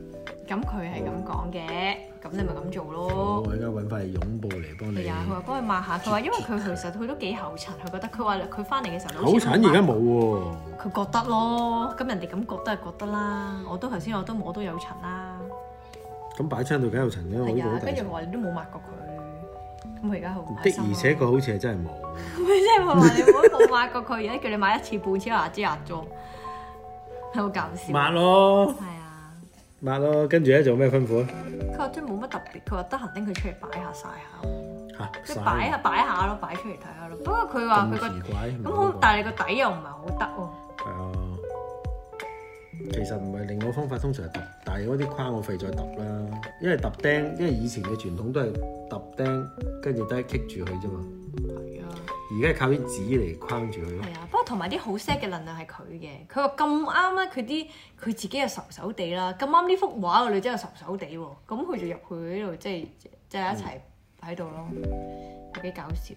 咁佢係咁講嘅，咁你咪咁做咯。 我而家揾翻嚟擁抱嚟幫你。 係啊，佢話幫佢抹下，佢話因為佢其實佢都幾厚塵，佢覺得佢話佢翻嚟嘅時候厚塵而家冇喎。 佢覺得咯，咁人哋咁覺得係覺得啦。我都頭先我都摸到有塵啦。 咁擺窗度梗有塵嘅， 係啊，跟住佢話你都冇抹過佢，咁佢而家好唔開心。 的而且確好似係真係冇。 咪即係話你冇冇抹過佢，而家叫你買一次半次牙之牙妝，係好搞笑。 抹咯。 係啊。 抹咯，跟住咧做咩吩咐啊？ 佢話真係冇乜特別，佢話得閒拎佢出嚟擺下曬下。嚇！即係曬擺下擺下咯，擺出嚟睇下咯。不過佢話佢個咁好，但係你個底又唔係好得喎。 係啊。其實唔係，另外方法通常係揼，但係嗰啲框我費再揼啦，因為揼釘，因為以前嘅傳統都係揼釘，跟住都係棘住佢啫嘛。係啊，而家係靠啲紙嚟框住佢咯。係啊，不過同埋啲好 set 嘅能量係佢嘅，佢話咁啱咧，佢啲佢自己又愁愁地啦，咁啱呢幅畫個女仔又愁愁地喎，咁佢就入去呢度，即係即係一齊喺度咯，有幾搞笑。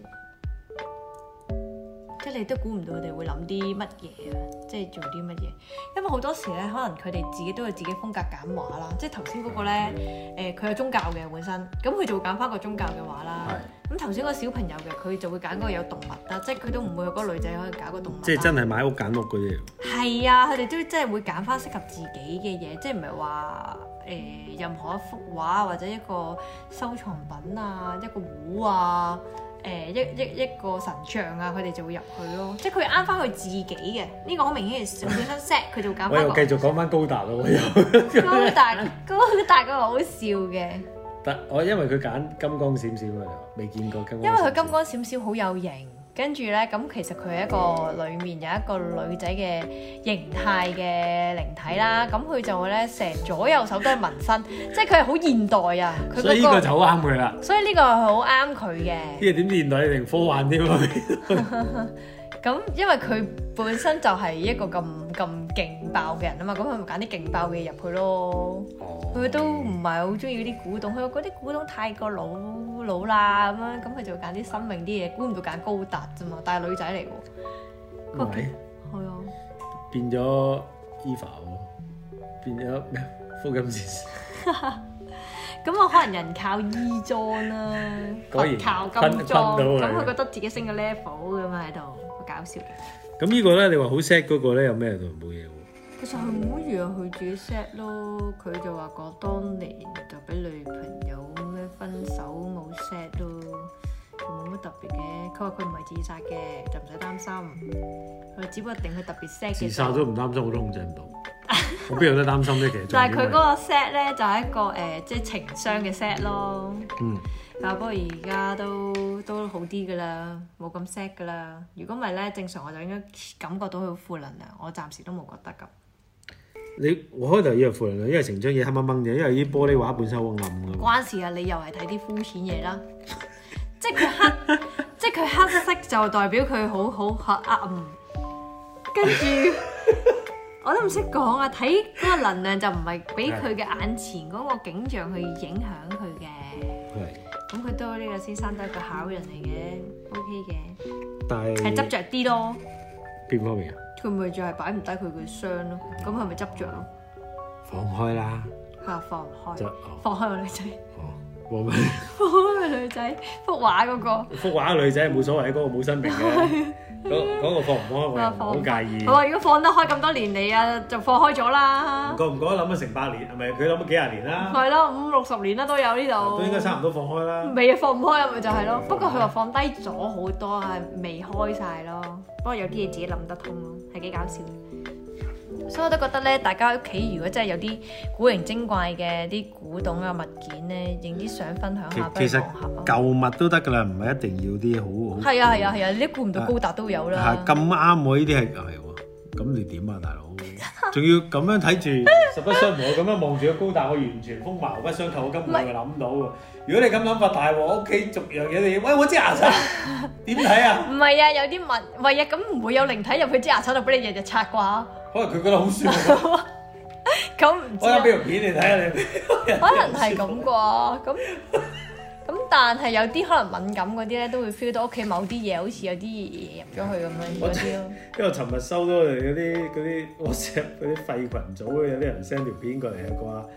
即係你都估唔到佢哋會諗啲乜嘢啊！即係做啲乜嘢？因為好多時咧，可能佢哋自己都有自己風格揀畫啦。即係頭先嗰個咧，誒佢有宗教嘅本身，咁佢就會揀翻個宗教嘅畫啦。咁頭先嗰個小朋友嘅，佢就會揀嗰個有動物啦。即係佢都唔會有嗰個女仔可以搞個動物。即係真係買屋揀屋嗰啲。係啊，佢哋都真係會揀翻適合自己嘅嘢，即係唔係話誒任何一幅畫或者一個收藏品啊，一個壺啊。誒一一一個神像啊，佢哋就會入去咯，即係佢啱翻佢自己嘅，呢、這個好明顯係本身 set 佢就揀翻個。我又繼續講翻高達咯，我又高達高達嗰個好笑嘅。 但我因為佢揀金光閃閃啊，未見過金光閃閃。 因為佢金光閃閃好有型。跟住咧，咁其實佢係一個裡面有一個女仔嘅形態嘅靈體啦。咁佢就咧成左右手都係紋身，即係佢係好現代啊。佢、嗰個、 所以呢個就好啱佢啦。 所以呢個係好啱佢嘅。 呢個點現代定科幻添啊？ 咁因為佢本身就係一個咁咁勁爆嘅人啊嘛，咁佢咪揀啲勁爆嘅嘢入去咯。佢、哦、都唔係好中意嗰啲古董，佢話嗰啲古董太過老老啦咁樣，咁佢就揀啲新穎啲嘢，估唔到揀高達啫嘛，但係女仔嚟喎。係咪？係啊。變咗 Eva 喎，變咗咩？福音戰士。 咁我可能人靠衣裝啦，佛靠金裝，咁佢覺得自己升個 level 咁啊喺度。搞笑嘅， 咁呢個咧，你話好 set 嗰個咧，有咩度冇嘢喎？ 其實係冇乜嘢，佢自己 set 咯。佢就話講當年就俾女朋友咩分手冇 set 咯，冇乜特別嘅。佢話佢唔係自殺嘅，就唔使擔心。佢只不過定佢特別 set 嘅。自殺都唔擔心，我都控制唔到。我邊有得擔心咧？其實。但係佢嗰個 set 咧，就係一個誒，即係情商嘅 set 咯。嗯。但不過而家都都好啲噶啦，冇咁 sad 噶啦。如果唔係咧，正常我就應該感覺到佢好負能量。我暫時都冇覺得咁。你我開頭以為負能量，因為成張嘢黑掹掹嘅，因為啲玻璃畫本身好暗㗎。關事啊！你又係睇啲膚淺嘢啦。即係佢黑，即係佢黑色就代表佢好好黑暗。跟住我都唔識講啊！睇嗰個能量就唔係俾佢嘅眼前嗰個景象去影響佢嘅。係。咁佢都呢個先生都係個好人嚟嘅 ，OK 嘅，但係係執着啲咯。邊方面啊？佢咪就係擺唔低佢嘅傷咯，咁係咪執着咯？放開啦！嚇，放唔開，放開個女仔。哦，放咩？放開個女仔，幅畫嗰個。幅畫個女仔冇所謂，嗰個冇生命嘅。嗰嗰個放唔開，我唔好介意。我話如果放得開咁多年嚟啊，就放開咗啦。覺唔覺得諗咗成百年？係咪佢諗咗幾廿年啦？係咯，五六十年啦都有呢度。都應該差唔多放開啦。未啊，放唔開啊，咪就係咯。不過佢話放低咗好多，係未開晒咯。不過有啲嘢自己諗得通咯，係幾搞笑。所以我都覺得咧，大家屋企如果真係有啲古靈精怪嘅啲古董啊物件咧，影啲相分享下，其實舊物都得㗎啦，唔係一定要啲好好。係啊係啊係啊！你都估唔到高達都有啦。係咁啱喎，呢啲係係喎。咁你點啊，大佬？仲要咁樣睇住，實不相瞞，我咁樣望住個高達，我完全風馬牛不相及，我根本就諗到喎。如果你咁諗法大鑊，屋企逐樣嘢你，喂我支牙刷點睇啊？唔係啊，有啲物，唔係啊，咁唔會有靈體入去支牙刷度俾你日日刷啩？可能佢覺得好舒服。咁唔知啊？我有俾條片你睇下你。可能係咁啩，咁咁但係有啲可能敏感嗰啲咧，都會 feel 到屋企某啲嘢好似有啲嘢入咗去咁樣嗰啲咯。因為我尋日收到嗰啲嗰啲 WhatsApp 嗰啲廢群組，有啲人 send 條片過嚟係啩。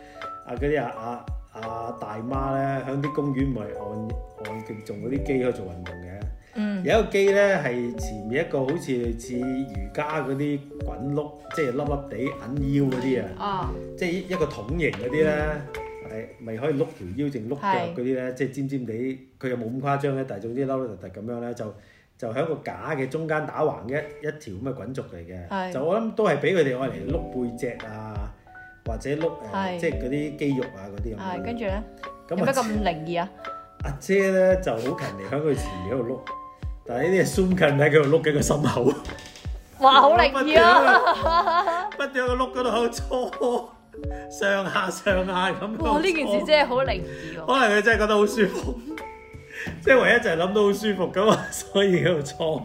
啊嗰啲啊啊啊大媽咧，喺啲公園咪按按勁重嗰啲機去做運動嘅。嗯、有一個機咧係前面一個好似類似瑜伽嗰啲滾碌，即係粒粒地揞腰嗰啲啊。哦。即係一個筒形嗰啲咧，係咪、嗯、可以碌條腰定碌腳嗰啲咧？即係尖尖地，佢又冇咁誇張咧，但係總之凹凹凸凸咁樣咧，就就喺個架嘅中間打橫一一條咁嘅滾軸嚟嘅。就我諗都係俾佢哋愛嚟碌背脊啊，或者碌誒、呃、即係嗰啲肌肉啊嗰啲咁。係。跟住咧，有咩咁靈異啊？阿姐咧就好勤力喺佢前面喺度碌。但係呢啲係 zoom 近喺佢度碌緊個心口，哇！好靈異啊！不斷喺個碌嗰度喺度搓上下上下咁。哇！呢件事真係好靈異喎。可能佢真係覺得好舒服，即係唯一就係諗到好舒服咁啊，所以喺度搓。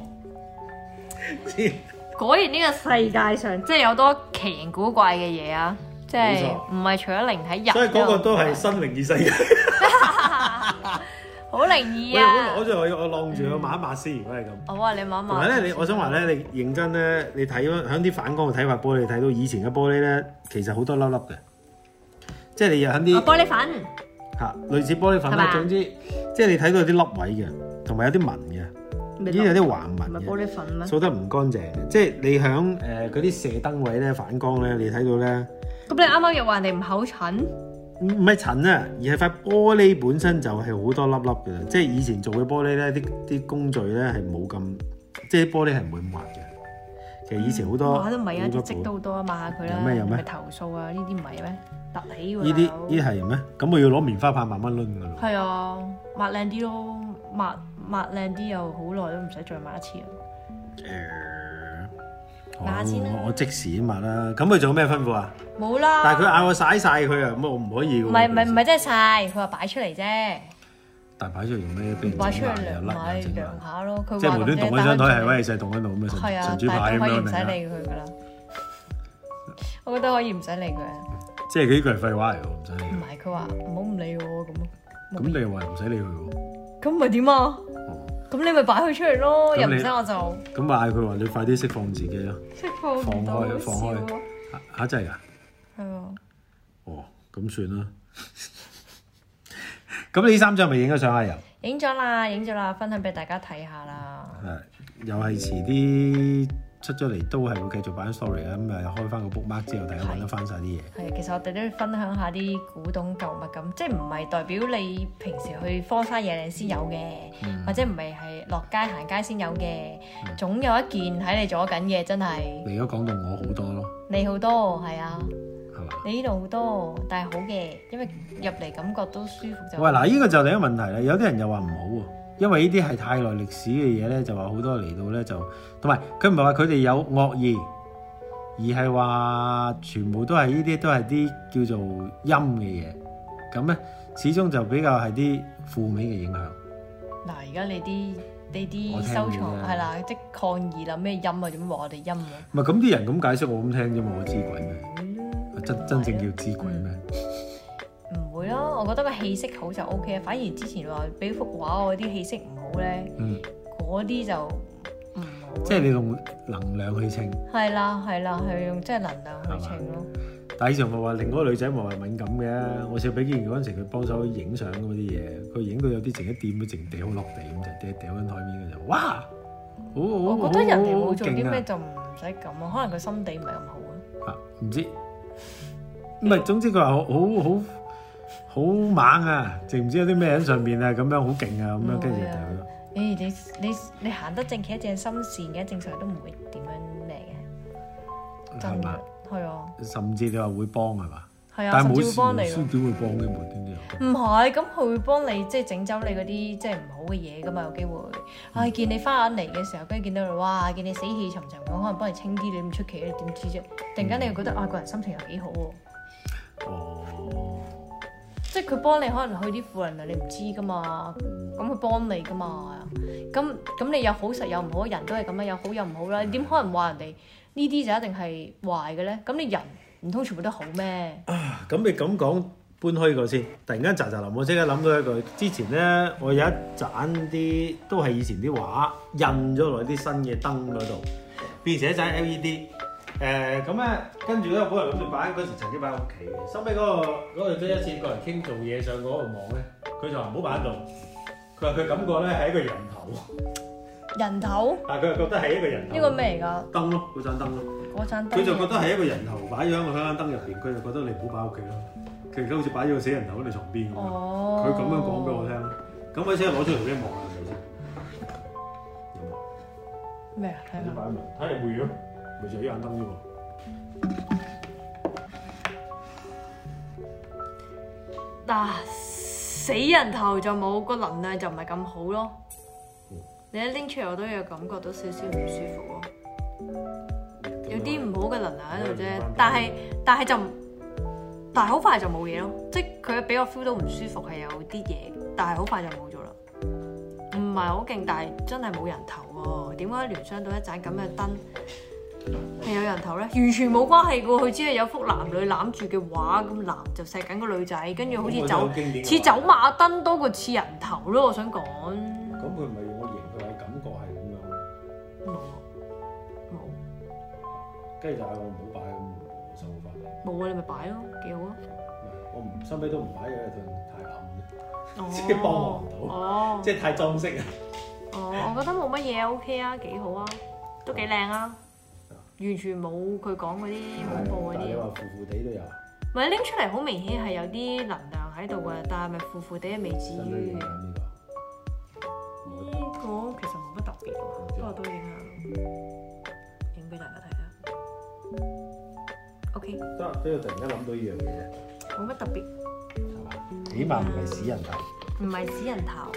果然呢個世界上即係有多奇形古怪嘅嘢啊！即係唔係除咗靈體人，所以嗰個都係新靈異世界。好靈異啊！我攞住我我晾住我抹一抹先，如果係咁。好啊，你抹一抹。同埋咧，你我想話咧，你認真咧，你睇喺啲反光嘅睇法玻璃，你睇到以前嘅玻璃咧，其實好多粒粒嘅，即係你又喺啲玻璃粉嚇，類似玻璃粉啦。總之，即係你睇到有啲粒位嘅，同埋有啲紋嘅，呢啲有啲橫紋嘅。唔係玻璃粉咩？掃得唔乾淨嘅，即係你響誒嗰啲射燈位咧反光咧，你睇到咧。咁你啱啱又話人哋唔口疹？唔唔係塵啊，而係塊玻璃本身就係好多粒粒嘅，即係以前做嘅玻璃咧，啲啲工序咧係冇咁，即係啲玻璃係唔會咁滑嘅。其實以前好多，哇都唔係啊，啲積都好多啊，抹下佢啦。有咩有咩？咪投訴啊？呢啲唔係咩？凸起喎。呢啲呢啲係咩？咁我要攞棉花棒慢慢攆㗎咯。係啊，抹靚啲咯，抹抹靚啲又好耐都唔使再抹一次啊。誒，抹下先啦。我即時抹啦。咁佢仲有咩吩咐啊？冇啦，但係佢嗌我曬晒佢啊，咁我唔可以㗎。唔係唔係唔係真係曬，佢話擺出嚟啫。但係擺出嚟用咩？擺出嚟涼咪涼下咯。佢即係無端端動喺張台係威勢動喺度咁啊！係啊，但係可以唔使理佢㗎啦。我覺得可以唔使理佢。即係佢呢句係廢話嚟㗎，唔使理。唔係佢話唔好唔理我咁咯。咁你又話唔使理佢喎？咁咪點啊？咁你咪擺佢出嚟咯，又唔使我就。咁咪嗌佢話你快啲釋放自己咯。釋放放開放開嚇真係㗎？係啊，哦，咁算啦。咁你呢三張咪影咗相啊？又影咗啦，影咗啦，分享俾大家睇下啦。係，又係遲啲出咗嚟，都係會繼續擺 story 啊。咁啊，開翻個 bookmark 之後，大家揾得翻晒啲嘢。係，其實我哋都要分享下啲古董舊物咁，即係唔係代表你平時去荒山野嶺先有嘅，嗯、或者唔係係落街行街先有嘅，嗯、總有一件喺你左緊嘅，真係。你而家講到我好多咯。你好多係啊。你呢度好多，但係好嘅，因為入嚟感覺都舒服就。喂，嗱，呢個就另一個問題啦。有啲人又話唔好喎，因為呢啲係太耐歷史嘅嘢咧，就話好多嚟到咧就，同埋佢唔係話佢哋有惡意，而係話全部都係呢啲都係啲叫做陰嘅嘢，咁咧始終就比較係啲負面嘅影響。嗱，而家你啲呢啲收藏係啦，即係抗議啦，咩陰啊？點話我哋陰啊？唔係咁啲人咁解釋，我咁聽啫嘛，我知鬼咩？真真正叫知鬼咩？唔、嗯、會咯，我覺得個氣色好就 O K 啊。反而之前話俾幅畫我啲氣色唔好咧，嗰啲、嗯、就唔好。即係你用能量去稱。係啦係啦，係用即係能量去稱咯。但係以前咪話另外個女仔咪話敏感嘅，我試過俾見嗰陣時佢幫手影相嗰啲嘢，佢影到有啲淨一掂都淨掉落地咁就掉掉緊台面嘅就，哇！好好我覺得人哋冇做啲咩就唔使咁啊，可能佢心地唔係咁好啊。啊，唔知。唔係，總之佢話好好好好猛啊！知唔知有啲咩喺上面啊？咁樣好勁啊！咁樣跟住就誒你你你行得正企得正心善嘅，正常都唔會點樣咩嘅。真係係啊！甚至你話會幫係嘛？係啊，但係冇事冇事點會幫嘅無端端？唔係，咁佢會幫你即係整走你嗰啲即係唔好嘅嘢㗎嘛？有機會。唉，見你翻眼嚟嘅時候，跟住見到你哇，見你死氣沉沉咁，可能幫你清啲，你唔出奇，你點知啫？突然間你又覺得啊，個人心情又幾好喎。哦，即係佢幫你可能去啲負能量，你唔知噶嘛，咁佢幫你噶嘛，咁咁你有好實有唔好，人都係咁樣，有好有唔好啦。你點可能話人哋呢啲就一定係壞嘅咧？咁你人唔通全部都好咩？啊，咁你咁講搬開個先，突然間喳喳林，我即刻諗到一句，之前咧我有一盞啲都係以前啲畫印咗落啲新嘅燈嗰度，變成一盞 L E D。 誒咁咧，跟住咧，本來諗住擺嗰時曾經擺喺屋企嘅，收尾嗰個嗰個即一次過嚟傾做嘢上嗰個網咧，佢就話唔好擺喺度。佢話佢感覺咧係一個人頭。人頭？但係佢又覺得係一個人頭。呢個咩嚟㗎？燈咯，嗰盞燈咯。嗰盞燈。佢就覺得係一個人頭擺咗喺個香燈入邊，佢就覺得你唔好擺喺屋企咯。佢而家好似擺咗個死人頭喺你床邊咁樣。哦。佢咁樣講俾我聽。咁佢先攞出嚟俾你望下，係咪先？有冇？咩啊？睇下。擺喺度，睇嚟會咯。咪就係呢盞燈啫喎。嗱，死人頭就冇個能量就唔係咁好咯。嗯、你一拎出嚟我都有感覺到少少唔舒服咯。嗯、有啲唔好嘅能量喺度啫，但係但係就但係好快就冇嘢咯。即係佢俾我 feel 到唔舒服係有啲嘢，但係好快就冇咗啦。唔係好勁，但係真係冇人頭喎。點解聯想到一盞咁嘅燈？係有人頭咧，完全冇關係嘅喎，佢只係有幅男女攬住嘅畫，咁男就錫緊個女仔，跟住好似走似走馬燈多過似人頭咯，我想講。咁佢唔係用個形，佢係感覺係咁樣。冇冇。跟住就係我唔好擺咁收翻。冇啊，你咪擺咯，幾好啊。我唔收尾都唔擺嘅，太暗，即係幫我唔到，哦、即係太裝飾啊。哦，我覺得冇乜嘢 OK 啊，幾好啊，都幾靚啊。完全冇佢講嗰啲恐怖嗰啲。你話腐腐地都有。唔係拎出嚟好明顯係有啲能量喺度嘅，但係咪腐腐地未至於。呢個其實冇乜特別喎，不過都影下，影俾大家睇下。OK。得，俾我突然間諗到呢樣嘢。冇乜特別。係嘛？起碼唔係死人頭。唔係死人頭。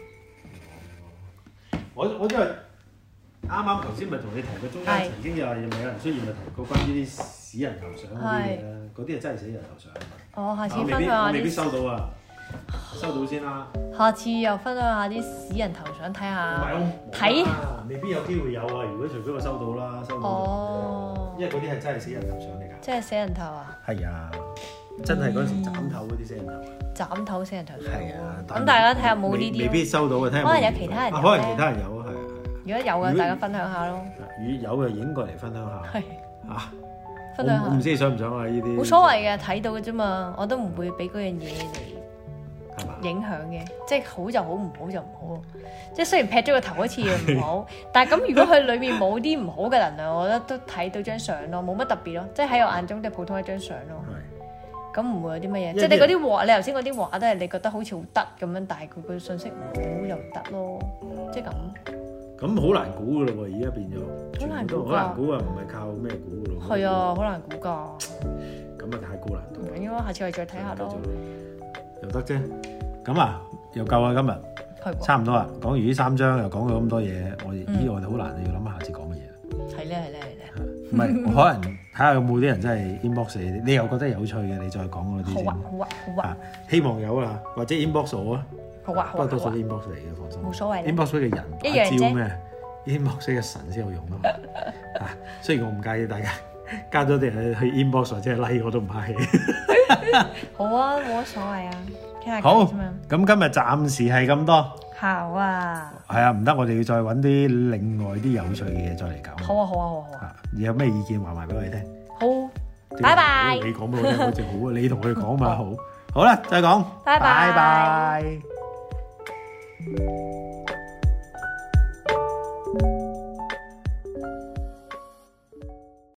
我我真係。啱啱頭先咪同你提過，中間曾經又係咪有人出現咪提過關於啲死人頭相嗰啲嘢咧？嗰啲係真係死人頭相。哦，下次分享下啲。未必收到啊，收到先啦。下次又分享下啲死人頭相睇下。睇。未必有機會有啊！如果除非我收到啦，收到。哦。因為嗰啲係真係死人頭相嚟㗎。即係死人頭啊？係啊，真係嗰陣時斬頭嗰啲死人頭。斬頭死人頭相。係啊。咁大家睇下冇呢啲。未必收到嘅，睇下。可能有其他人。可能其他人有啊，係啊。如果有嘅，大家分享下咯。如果有嘅，影過嚟分享下。係嚇，分享下。我唔知你想唔想啊？呢啲冇所謂嘅，睇到嘅啫嘛。我都唔會俾嗰樣嘢嚟影響嘅。即係好就好，唔好就唔好。即係雖然劈咗個頭好似唔好，但係咁如果佢裏面冇啲唔好嘅能量，我覺得都睇到張相咯，冇乜特別咯。即係喺我眼中都係普通一張相咯。係。咁唔會有啲乜嘢？即係你嗰啲畫，你頭先嗰啲畫都係你覺得好似好得咁樣，但係佢個信息唔好又唔得咯。即係咁。咁好難估噶咯喎，而家變咗，好難估，好難估啊！唔係靠咩估噶咯？係啊，好難估噶。咁啊，太高難度。唔緊要啊，下次我哋再睇下咯。又得啫。咁啊，又夠啦今日。差唔多啦，講完呢三章又講咗咁多嘢，我咦我哋好難要諗下下次講乜嘢。係咧係咧係咧。唔係，可能睇下有冇啲人真係 inbox 你，你又覺得有趣嘅，你再講嗰啲先。好啊好啊好啊。希望有啦，或者 inbox 我啊。好啊，不過多數 inbox 嚟嘅，放心。冇所謂。inbox 嘅人一樣招咩 inbox 嘅神先有用啊嘛。啊，雖然我唔介意大家加咗啲人去 inbox 或者係 like 我都唔客氣。好啊，冇乜所謂啊，傾下偈啫嘛。咁今日暫時係咁多。好啊。係啊，唔得，我哋要再揾啲另外啲有趣嘅嘢再嚟搞。好啊，好啊，好啊。好啊，你有咩意見話埋俾我哋聽？好，拜拜。你講俾我聽好似好啊，你同佢哋講嘛好。好啦，再講。拜拜。拜拜。